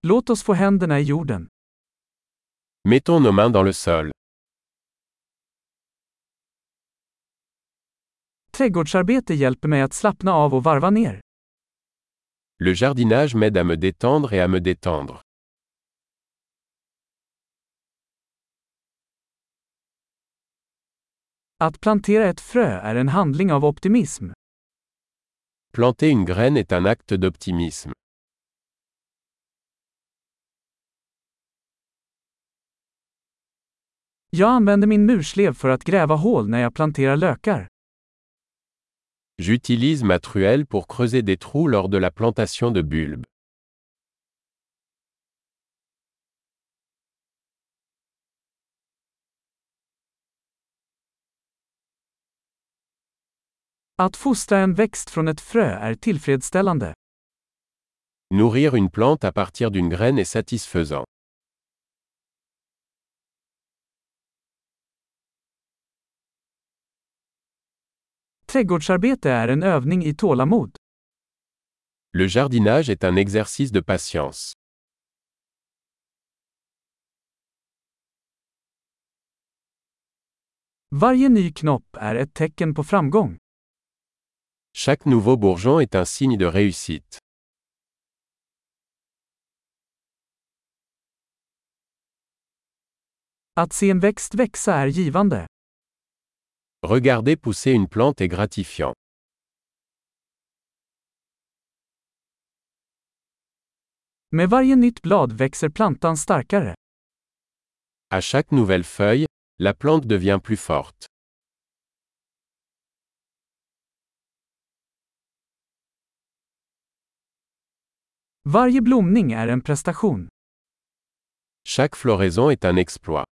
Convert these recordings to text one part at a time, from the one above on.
Låt oss få händerna i jorden. Mettons nos mains dans le sol. Trädgårdsarbete hjälper mig att slappna av och varva ner. Le jardinage m'aide à me détendre et à me détendre. Att plantera ett frö är en handling av optimism. Planter une graine est un acte d'optimisme. Jag använder min murslev för att gräva hål när jag planterar lökar. J'utilise ma truelle pour creuser des trous lors de la plantation de bulbes. Att fostra en växt från ett frö är tillfredsställande. Nourrir une plante à partir d'une graine est satisfaisant. Trädgårdsarbete är en övning i tålamod. Le jardinage est un exercice de patience. Varje ny knopp är ett tecken på framgång. Chaque nouveau bourgeon est un signe de réussite. Att se en växt växa är givande. Regarder pousser une plante est gratifiant. Med varje nytt blad växer plantan starkare. À chaque nouvelle feuille, la plante devient plus forte. Varje blomning är en prestation. Chaque floraison est un exploit.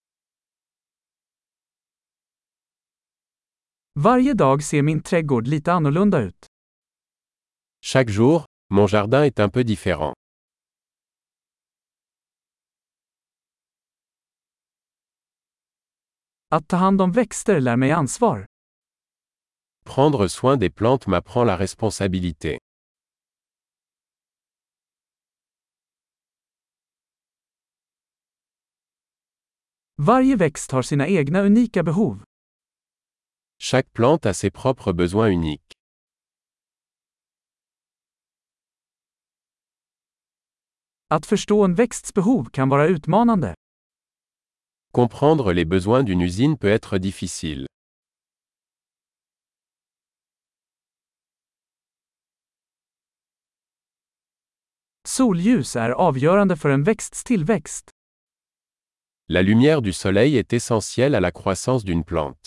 Varje dag ser min trädgård lite annorlunda ut. Chaque jour, mon jardin est un peu différent. Att ta hand om växter lär mig ansvar. Prendre soin des plantes m'apprend la responsabilité. Varje växt har sina egna unika behov. Chaque plante a ses propres besoins uniques. Att förstå en växts behov kan vara utmanande. Comprendre les besoins d'une usine peut être difficile. Solljus är avgörande för en växts tillväxt. La lumière du soleil est essentielle à la croissance d'une plante.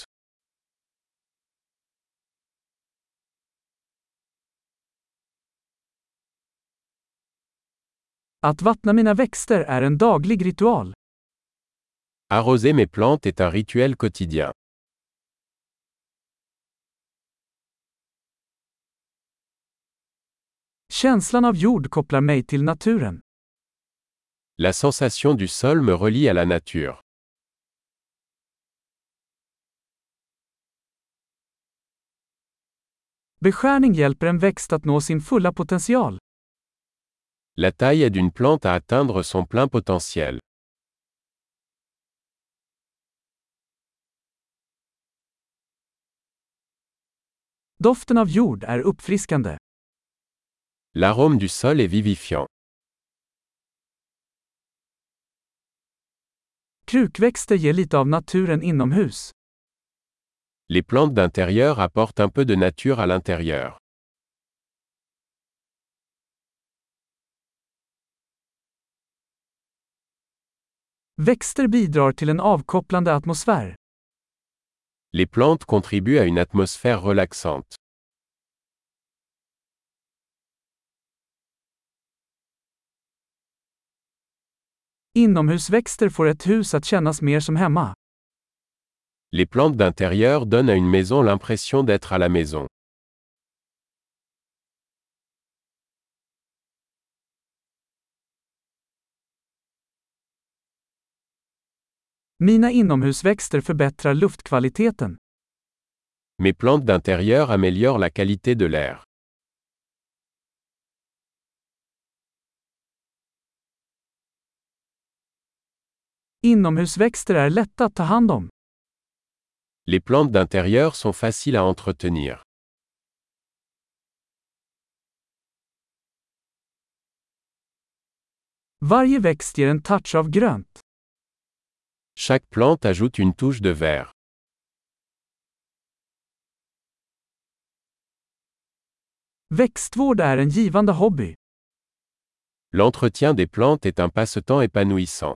Att vattna mina växter är en daglig ritual. Arroser mes plantes est un rituel quotidien. Känslan av jord kopplar mig till naturen. La sensation du sol me relie à la nature. Beskärning hjälper en växt att nå sin fulla potential. La taille aide une plante à atteindre son plein potentiel. Doften av jord är uppfriskande. L'arôme du sol est vivifiant. Krukväxter ger lite av naturen inomhus. Les plantes d'intérieur apportent un peu de nature à l'intérieur. Växter bidrar till en avkopplande atmosfär. Les plantes contribuent à une atmosphère relaxante. Inomhusväxter får ett hus att kännas mer som hemma. Les plantes d'intérieur donnent à une maison l'impression d'être à la maison. Mina inomhusväxter förbättrar luftkvaliteten. Mes plantes d'intérieur améliorent la qualité de l'air. Inomhusväxter är lätta att ta hand om. Les plantes d'intérieur sont faciles à entretenir. Varje växt ger en touch av grönt. Chaque plante ajoute une touche de vert. Växtvård är en givande hobby. L'entretien des plantes est un passe-temps épanouissant.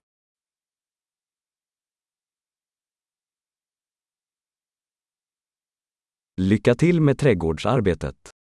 Lycka till med trädgårdsarbetet.